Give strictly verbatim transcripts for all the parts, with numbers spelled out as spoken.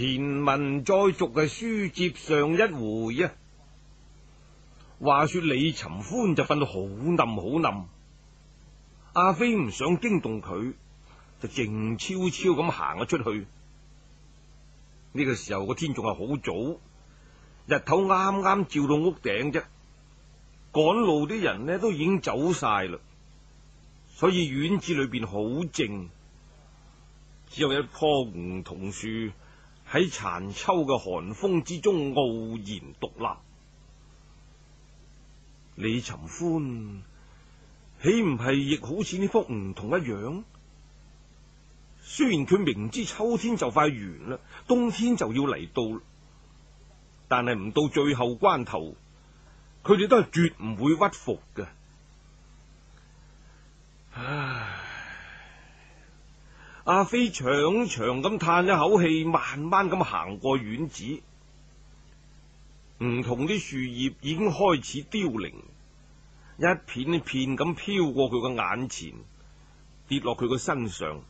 前文再續嘅書接上一回啊，話說李尋歡就瞓到好冧好冧，阿飛唔想驚動佢，就靜悄悄咁行咗出去。呢個時候個天仲係好早，日頭啱啱照到屋頂啫，趕路啲人呢都已經走晒啦，所以院子裏邊好靜，只有一棵梧桐樹喺殘秋嘅寒風之中傲然獨立。李尋歡豈唔係亦好似呢棵梧桐一樣？雖然佢明知秋天就快完啦，冬天就要嚟到，但係唔到最後關頭，佢哋都係絕唔會屈服嘅。唉，阿飛長長咁嘆一口氣，慢慢咁行過院子。梧桐啲樹葉已經開始凋零，一片一片咁飄過佢個眼前，跌落佢個身上。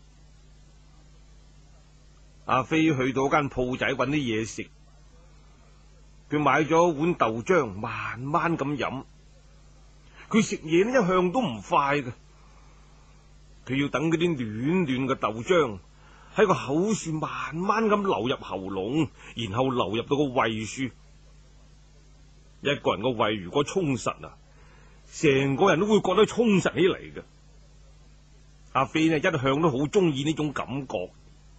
阿飛去到間鋪仔揾啲嘢食，佢買咗碗豆漿，慢慢咁飲。佢食嘢呢一向都唔快嘅，佢要等嗰啲暖暖嘅豆漿喺個口處慢慢咁流入喉嚨，然後流入到個胃處。一個人個胃如果充實啊，成個人都會覺得充實起嚟嘅。阿飛呢一向都好中意呢種感覺。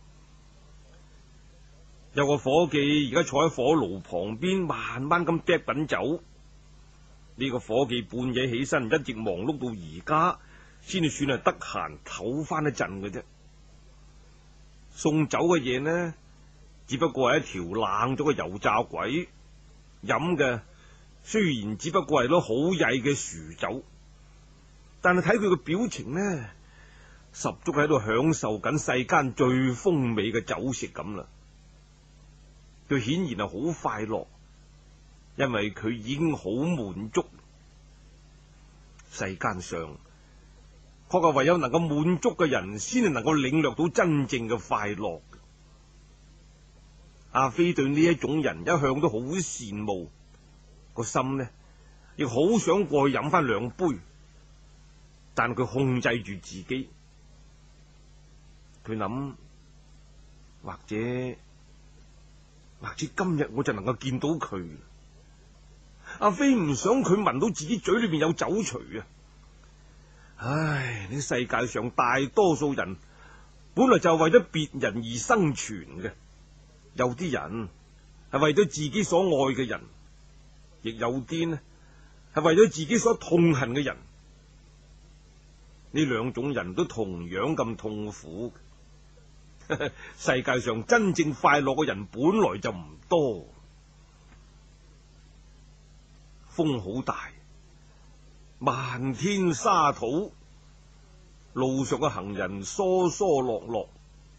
有個伙計而家坐喺火爐旁邊，慢慢咁嗒品酒。呢個伙計半夜起身，一直忙碌到而家，先至算係得閒唞翻一陣嘅啫。送酒嘅嘢呢，只不過係一條冷咗嘅油炸鬼，飲嘅雖然只不過係攞好曳嘅薯酒，但係睇佢嘅表情呢，十足喺度享受緊世間最風美嘅酒食咁啦。佢顯然係好快樂，因為佢已經好滿足。世間上確係唯有能夠滿足嘅人，先至能夠領略到真正嘅快樂。阿飛對呢一種人一向都好羨慕，個心呢亦好想過去飲翻兩杯，但佢控制住自己。佢諗，或者或者今日我就能夠見到佢。阿飛唔想佢聞到自己嘴裏邊有酒錘啊！唉，呢世界上大多數人本來就係為咗別人而生存嘅，有啲人係為咗自己所愛嘅人，亦有啲呢係為咗自己所痛恨嘅人。呢兩種人都同樣咁痛苦。世界上真正快樂嘅人本來就唔多。風好大，漫天沙土，路上嘅行人疏疏落落。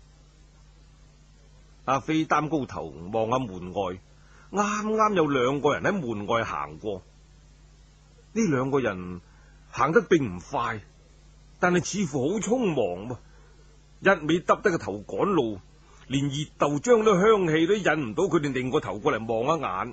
阿飛擔高頭望下門外，啱啱有兩個人喺門外行過。呢兩個人行得並唔快，但係似乎好匆忙，一味耷低個頭趕路，連熱豆漿都香氣都引唔到佢哋擰個頭過嚟望一眼。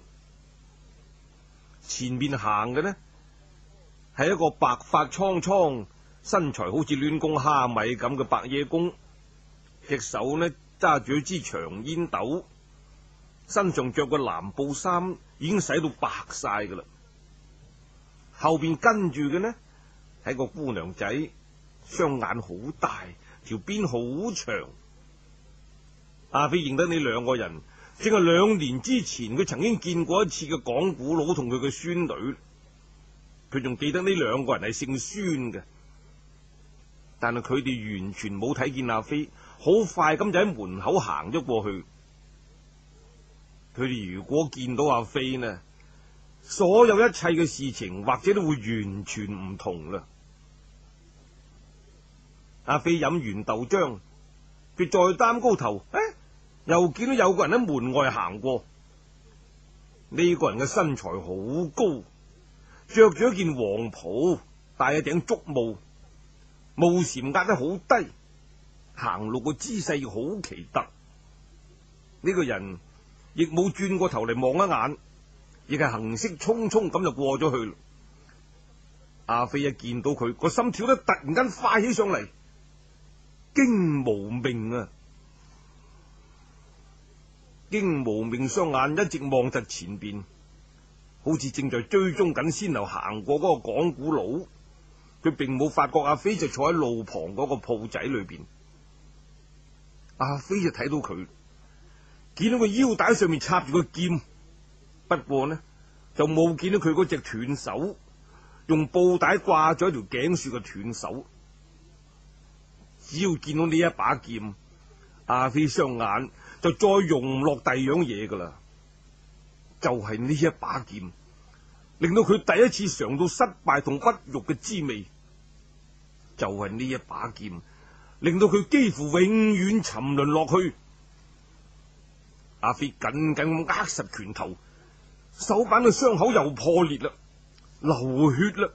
前面行嘅呢係一個白髮蒼蒼、身材好似亂公蝦米咁嘅白野公，隻手呢揸住一支長煙斗，身上着個藍布衫已經洗到白晒噶啦。後邊跟住嘅呢係個姑娘仔，雙眼好大，條辮好長。阿飛認得呢兩個人，正係兩年之前佢曾經見過一次嘅講古佬同佢嘅孫女。佢仲記得呢兩個人係姓孫嘅，但係佢哋完全冇睇見阿飛，好快咁就喺門口行咗過去。佢哋如果見到阿飛呢，所有一切嘅事情或者都會完全唔同啦。阿飛飲完豆漿，佢再擔高頭，誒，又見到有個人喺門外行過。呢個人嘅身材好高，着住一件黃袍，戴一頂竹帽，帽檐壓得好低，行路個姿勢好奇特。 呢個人亦冇轉過頭嚟望一眼，亦係行色匆匆咁就過咗去。阿飛一見到佢，個心跳得突然間快起上嚟，驚無命啊！驚無命雙眼一直望實前邊，好似正在追蹤緊先頭行過嗰個講古佬。佢並冇發覺阿飛就坐喺路旁嗰個鋪仔裏邊。阿飛就睇到佢，見到個腰帶上面插住個劍，不過呢就冇見到佢嗰隻斷手，用布帶掛咗一條頸樹嘅斷手。只要見到呢一把劍，阿飛雙眼就再容唔落第二樣嘢噶啦，就係、是、呢一把劍，令到佢第一次嘗到失敗同屈辱嘅滋味。就係、是、呢一把劍，令到佢幾乎永遠沉淪落去。阿飛緊緊咁握實拳頭，手板嘅傷口又破裂啦，流血啦，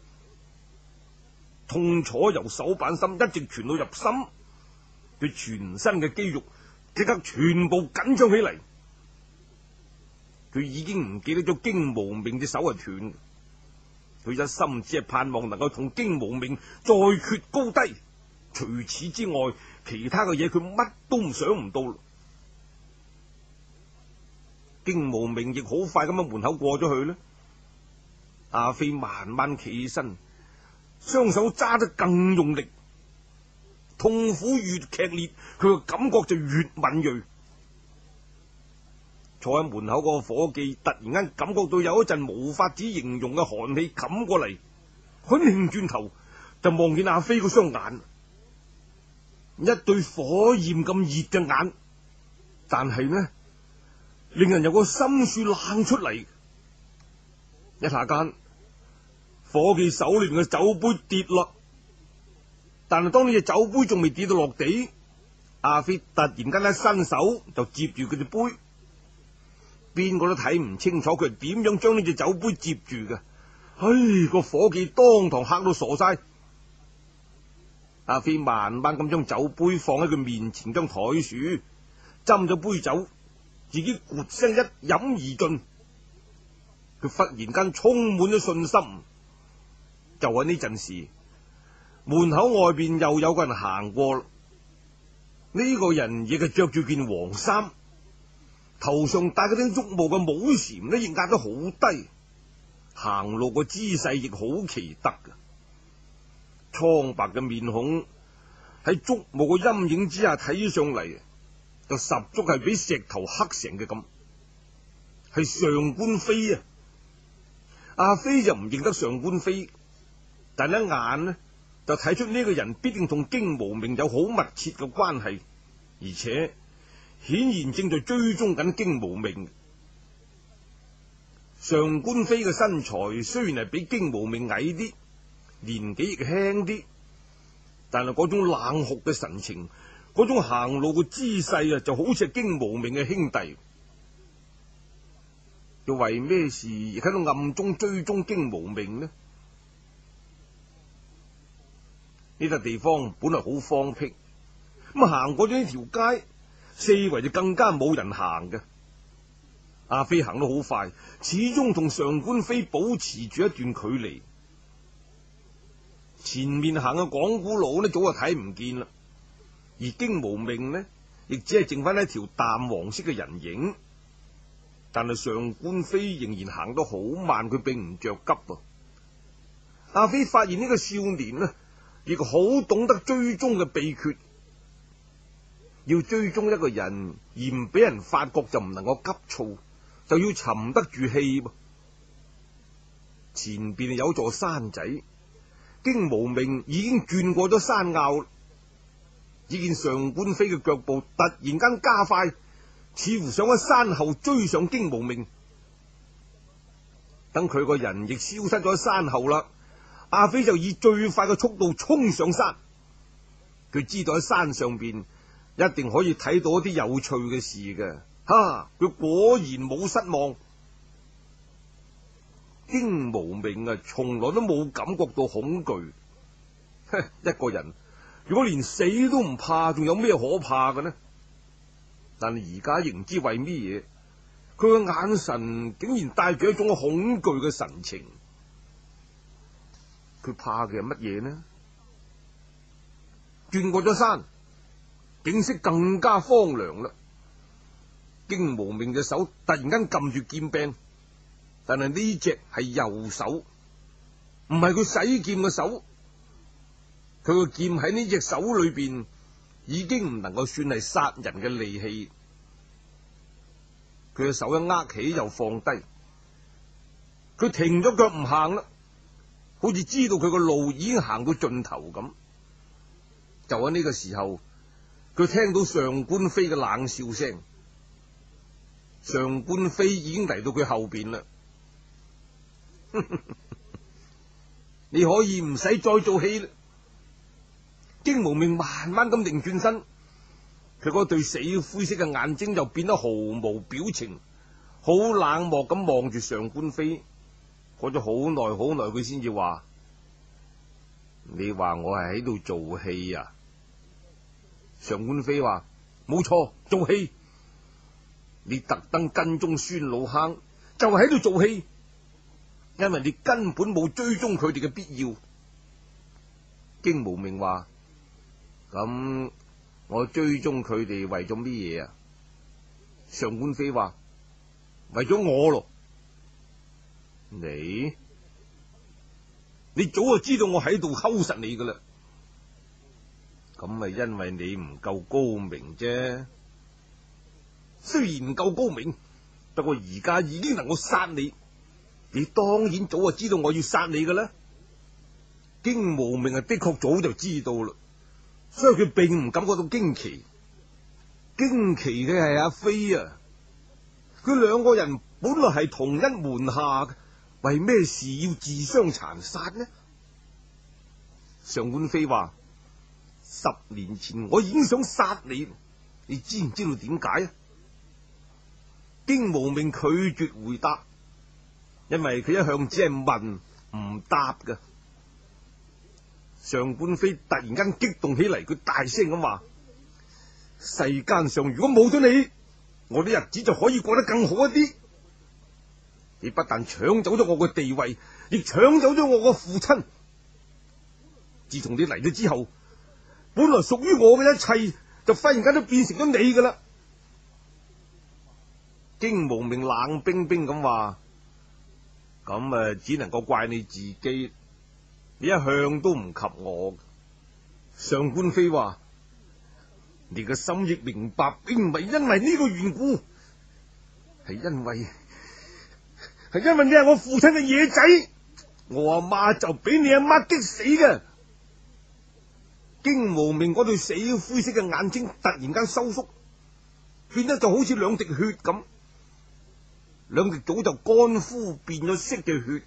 痛楚由手板心一直傳到入心，佢全身嘅肌肉即刻全部緊張起嚟。佢已經唔記得咗荊無命隻手係斷，佢一心只係盼望能夠同荊無命再決高低，除此之外，其他嘅嘢佢乜都唔想唔到。荊無命亦好快咁喺門口過咗去呢。阿飛慢慢企起身，雙手揸得更用力，痛苦越劇烈，佢嘅感覺就越敏銳。坐喺門口嗰個伙計突然間感覺到有一陣無法子形容嘅寒氣冚過嚟，佢擰轉頭就望見阿飛嗰雙眼，一對火焰咁熱嘅眼，但係呢，令人有個心樹冷出嚟。一下間，伙計手裏邊嘅酒杯跌落，但係當呢隻酒杯仲未跌到落地，阿飛突然間一伸手就接住佢隻杯。邊個都睇唔清楚佢係點樣將呢隻酒杯接住嘅。唉，個伙計當堂嚇到傻晒。阿飛慢慢咁將酒杯放喺佢面前張台樹，斟咗杯酒，自己咕聲一飲而盡。佢忽然間充滿咗信心。就喺呢陣時，門口外邊又有個人行過。呢、這個人亦係着住件黃衫，頭上戴嗰頂竹帽嘅帽檐呢，亦壓得好低，行路個姿勢亦好奇特嘅。蒼白嘅面孔喺竹帽嘅陰影之下睇上嚟，就十足係比石頭黑成嘅咁，係上官飛啊！阿飛就唔認得上官飛，但一眼呢就睇出呢個人必定同荊無命有好密切嘅關係，而且顯然正在追蹤緊荊無命。上官飛嘅身材雖然係比荊無命矮啲，年紀亦輕啲，但係嗰種冷酷嘅神情，嗰種行路嘅姿勢啊，就好似係荊無命嘅兄弟。又為咩事亦喺度暗中追蹤荊無命呢？呢笪地方本來好荒僻，咁行過咗呢條街，四圍就更加冇人行嘅。阿飛行得好快，始終同上官飛保持住一段距離。前面行嘅講古佬呢，早就睇唔見啦，而荊無命呢，亦只係剩翻一條淡黃色嘅人影。但係上官飛仍然行得好慢，佢並唔着急啊。阿飛發現呢個少年呢，亦好懂得追蹤嘅秘訣。要追蹤一個人而唔俾人發覺，就唔能夠急躁，就要沉得住氣。前邊有座山仔，荊無命已經轉過咗山坳，只見上官飛嘅腳步突然間加快，似乎想喺山後追上荊無命。等佢個人亦消失咗喺山後啦，阿飛就以最快嘅速度衝上山。佢知道喺山上邊一定可以睇到一啲有趣嘅事嘅。哈！佢果然冇失望。荊無命啊，從來都冇感覺到恐懼。一個人如果連死都唔怕，仲有咩可怕嘅呢？ 但係而家亦唔知為咩嘢，佢個眼神竟然帶住一種恐懼嘅神情。佢怕嘅係乜嘢呢？轉過咗山，景色更加荒涼啦。荊無命嘅手突然間撳住劍柄，但係呢隻係右手，唔係佢使劍嘅手。佢個劍喺呢隻手裏邊已經唔能夠算係殺人嘅利器。佢嘅手一握起又放低，佢停咗腳唔行啦，好似知道佢個路已經行到盡頭咁。就喺呢個時候，佢聽到上官飛嘅冷笑聲。上官飛已經嚟到佢後邊啦。你可以唔使再做戲啦。荊無命慢慢咁擰轉身，佢嗰對死灰色嘅眼睛就變得毫無表情，好冷漠咁望住上官飛。過咗好耐好耐，佢先至話：你話我係喺度做戲啊？上官飛話：冇錯，做戲。你特登跟蹤孫老坑，就係喺度做戲，因為你根本冇追蹤佢哋嘅必要。荊無命話：咁我追蹤佢哋為咗咩嘢啊？上官飛話：為咗我咯。你你早就知道我喺度睺實你噶啦，咁咪因為你唔夠高明啫。雖然唔夠高明，不過而家已經能夠殺你，你當然早就知道我要殺你噶啦。荊無命啊，的確早就知道啦，所以佢並唔感覺到驚奇。驚奇嘅係阿飛啊，佢兩個人本來係同一門下，為咩事要自相殘殺呢？上官飛話：十年前我已經想殺你，你知唔知道點解啊？荊無命拒絕回答，因為佢一向只係問唔答㗎。上官飛突然間激動起嚟，佢大聲咁話：世間上如果冇咗你，我啲日子就可以過得更好一啲。你不但搶走咗我嘅地位，亦搶走咗我個父親。自從你嚟咗之後，本來屬於我嘅一切就忽然間都變成咗你噶啦。荊無命冷冰冰咁話：咁啊，只能夠怪你自己，你一向都唔及我。上官飛話：你嘅心亦明白，並唔係因為呢個緣故，係因為係因為你係我父親嘅野仔，我阿媽就俾你阿媽激死嘅。荊無命嗰對死灰色嘅眼睛突然間收縮，變得就好似兩滴血咁，兩滴早就乾枯變咗色嘅血。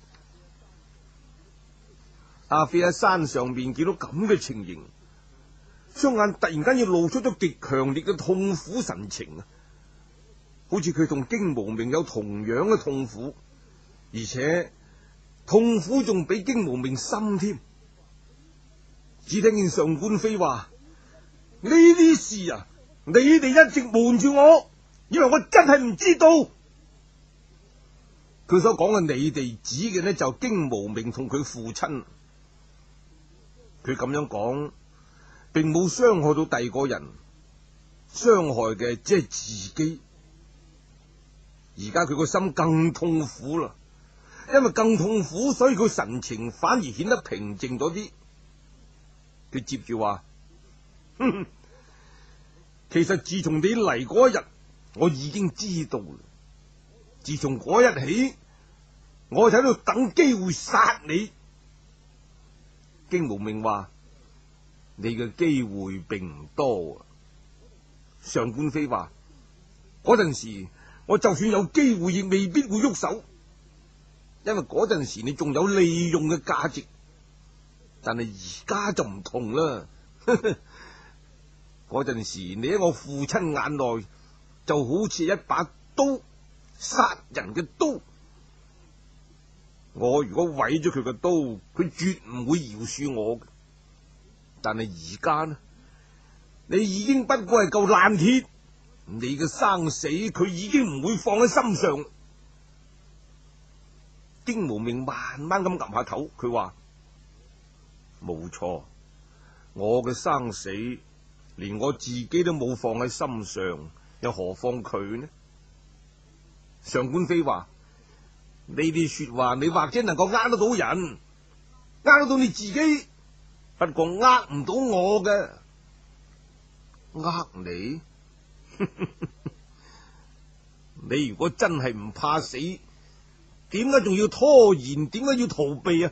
阿飛喺山上面見到咁嘅情形，雙眼突然間要露出咗極強烈嘅痛苦神情啊，好似佢同荊無命有同樣嘅痛苦，而且痛苦仲比荊無命深添。只聽見上官飛話：呢啲事啊，你哋一直瞞住我，以為我真係唔知道。佢所講嘅你哋指嘅呢，就荊無命同佢父親。佢咁樣講，並冇傷害到第二個人，傷害嘅只係自己。而家佢個心更痛苦啦，因為更痛苦，所以佢神情反而顯得平靜咗啲。佢接住話：哼哼，其實自從你嚟嗰一日，我已經知道啦。自從嗰日起，我就喺度等機會殺你。荊無命話：你嘅機會並唔多啊。上官飛話：嗰陣時，我就算有機會，亦未必會喐手，因為嗰陣時你仲有利用嘅價值。但係而家就唔同啦。嗰陣時你喺我父親眼內就好似一把刀，殺人嘅刀。我如果毀咗佢嘅刀，佢絕唔會饒恕我。但係而家呢，你已經不過係嚿爛鐵， 你嘅生死佢已經唔會放喺心上。荊無命慢慢咁岌下頭，佢話：冇錯，我嘅生死連我自己都冇放喺心上，又何況佢呢？上官飛話：呢啲說話你或者能夠呃得到人，呃得到你自己，不過呃唔到我嘅。呃你？你如果真係唔怕死，點解仲要拖延？點解要逃避啊？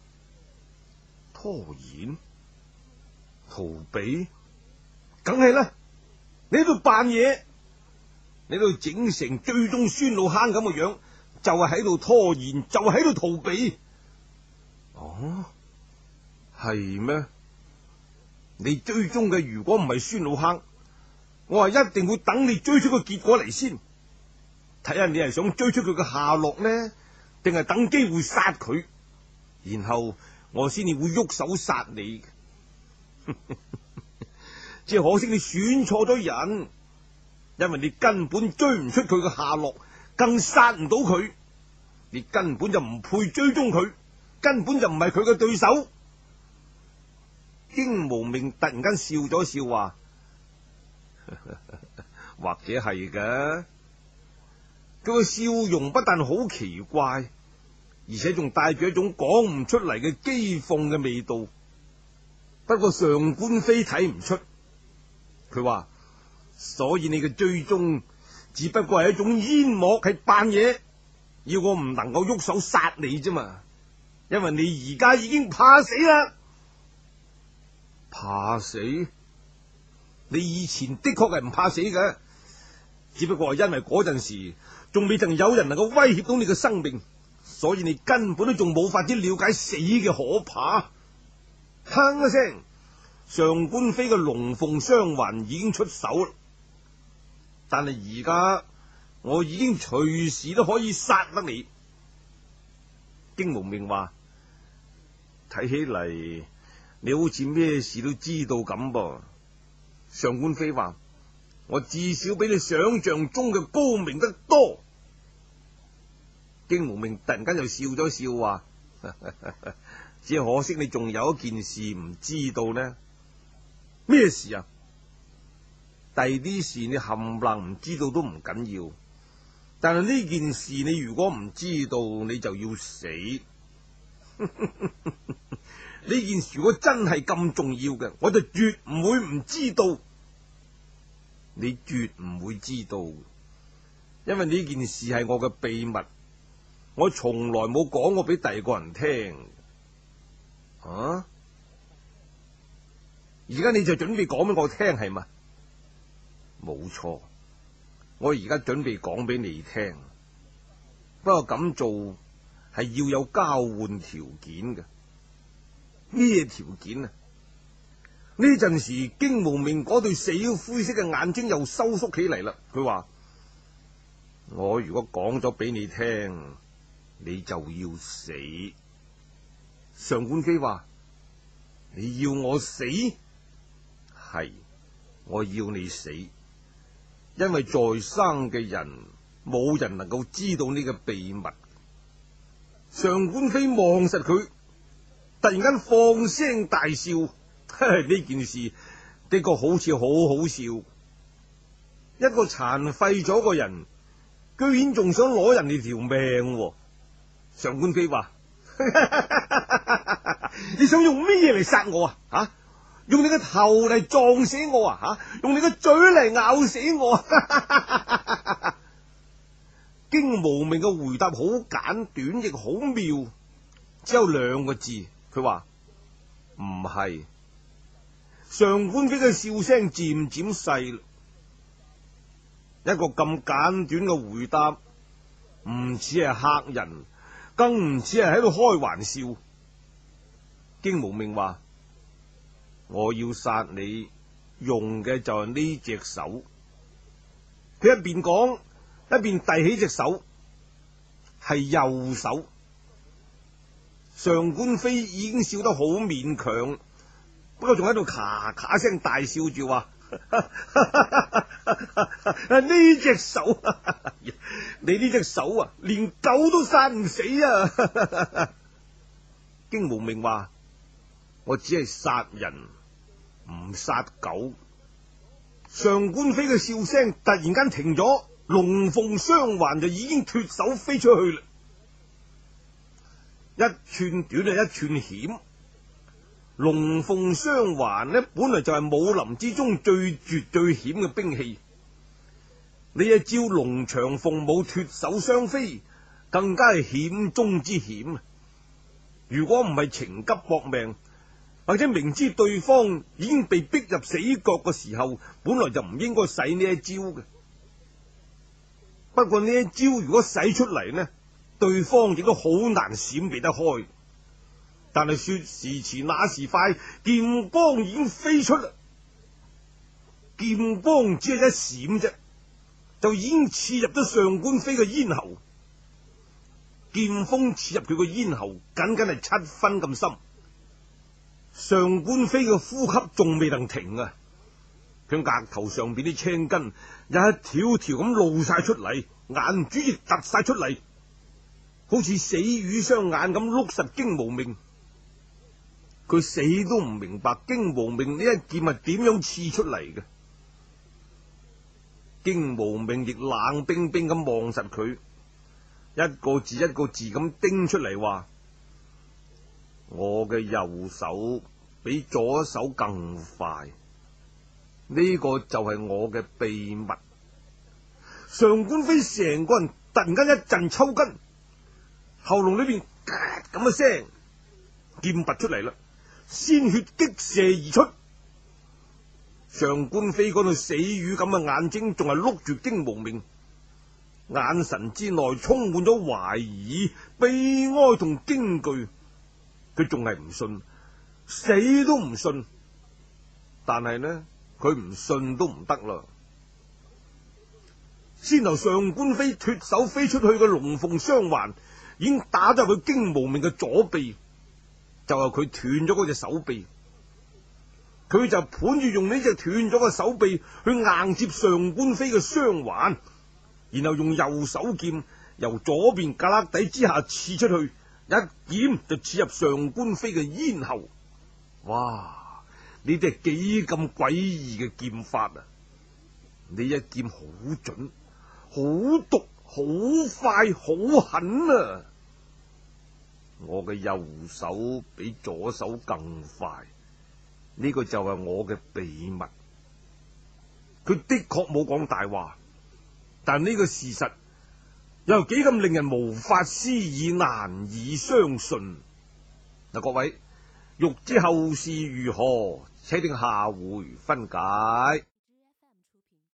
拖延？逃避？梗係啦！你喺度扮嘢，你喺度整成追蹤孫老坑咁嘅樣，就係喺度拖延，就係喺度逃避。哦，係咩？你追蹤嘅如果唔係孫老坑，我係一定會等你追出個結果嚟先，睇下你係想追出佢嘅下落呢，定係等機會殺佢，然後我先至會喐手殺你。只係可惜你選錯咗人，因為你根本追唔出佢嘅下落，更殺唔到佢，你根本就唔配追蹤佢，根本就唔係佢嘅對手。荊無命突然間笑咗笑話：或者係嘅。佢個笑容不但好奇怪，而且仲帶住一種講唔出嚟嘅譏諷嘅味道。不過上官飛睇唔出，佢話：所以你嘅追蹤只不過係一種煙幕，係扮嘢，要我唔能夠喐手殺你啫嘛。因為你而家已經怕死啦。怕死？你以前的確係唔怕死嘅，只不過係因為嗰陣時仲未曾有人能夠威脅到你嘅生命，所以你根本都仲冇法子了解死嘅可怕。哼一聲，上官飛嘅龍鳳雙環已經出手啦，但係而家我已經隨時都可以殺得你。荊無命話：睇起嚟你好似咩事都知道咁噃。上官飛話：我至少比你想象中嘅高明得多。荊無命突然間又笑咗笑話：只可惜你仲有一件事唔知道呢。咩事啊？第啲事你冚唪唥唔知道都唔緊要，但係呢件事你如果唔知道，你就要死。呢件事如果真係咁重要嘅，我就絕唔會唔知道。你絕唔會知道，因為呢件事係我嘅秘密，我從來冇講過俾第二個人聽。啊？而家你就準備講俾我聽係嘛？冇錯，我而家準備講俾你聽。不過咁做係要有交換條件嘅。咩條件啊？呢陣時荊無命嗰對死灰色嘅眼睛又收縮起嚟啦。佢話：我如果講咗俾你聽，你就要死。上官飛話：你要我死？係，我要你死，因為在生嘅人冇人能夠知道呢個秘密。上官飛望實佢，突然間放聲大笑。呢件事的確好似好好笑，一個殘廢咗個人，居然仲想攞人哋條命喎。上官飛話：你想用咩嘢嚟殺我啊？吓、啊，用你個頭嚟撞死我啊？吓、啊，用你個嘴嚟咬死我啊？荊無命嘅回答好簡短，亦好妙，只有兩個字。佢話：唔係。上官飛嘅笑聲漸漸細，一個咁簡短嘅回答，唔似係嚇人，更唔似係喺度開玩笑。荊無命話：我要殺你，用嘅就係呢隻手。佢一邊講，一邊遞起隻手，係右手。上官飛已經笑得好勉強，不過仲喺度咔咔聲大笑住話： 呢隻手，你呢隻手啊，連狗都殺唔死啊！荊無命話：我只係殺人，唔殺狗。上官飛嘅笑聲突然間停咗，龍鳳雙環就已經脱手飛出去啦。一寸短啊，一寸險。龍鳳雙環呢，本來就係武林之中最絕最險嘅兵器。呢一招龍長鳳舞脱手相飛，更加係險中之險。如果唔係情急搏命，或者明知對方已經被逼入死角嘅時候，本來就唔應該使呢一招嘅。不過呢一招如果使出嚟呢，對方亦都好難閃避得開。但係說時遲那時快，劍光已經飛出啦。劍光只係一閃啫，就已經刺入咗上官飛嘅咽喉。劍鋒刺入佢個咽喉，僅僅係七分咁深。上官飛嘅呼吸仲未能停啊！佢額頭上邊啲青筋一條條咁露晒出嚟，眼珠亦突晒出嚟，好似死魚雙眼咁碌實荊無命。佢死都唔明白荊無命呢一劍係點樣刺出嚟嘅。荊無命亦冷冰冰咁望實佢，一個字一個字咁叮出嚟話：我嘅右手比左手更快，呢個就係我嘅秘密。上官飛成個人突然間一陣抽筋，喉嚨裏邊咁嘅聲，劍拔出嚟啦，鮮血激射而出。上官飛嗰對死魚咁嘅眼睛仲係碌住荊無命，眼神之內充滿咗懷疑、悲哀同驚懼。佢仲係唔信，死都唔信。但係呢，佢唔信都唔得啦。先頭上官飛脱手飛出去嘅龍鳳雙環已經打咗佢荊無命嘅左臂，就係佢斷咗嗰隻手臂。佢就盤住用呢隻斷咗嘅手臂去硬接上官飛嘅雙環，然後用右手劍由左邊胳肋底之下刺出去，一劍就刺入上官飛嘅咽喉。哇！呢啲係幾咁詭異嘅劍法啊！呢一劍好準、好毒、好快、好狠啊！我嘅右手比左手更快，呢個就係我嘅秘密。佢的確冇講大話，但呢個事實又幾咁令人無法思議、難以相信。嗱，各位欲知後事如何，且聽下回分解。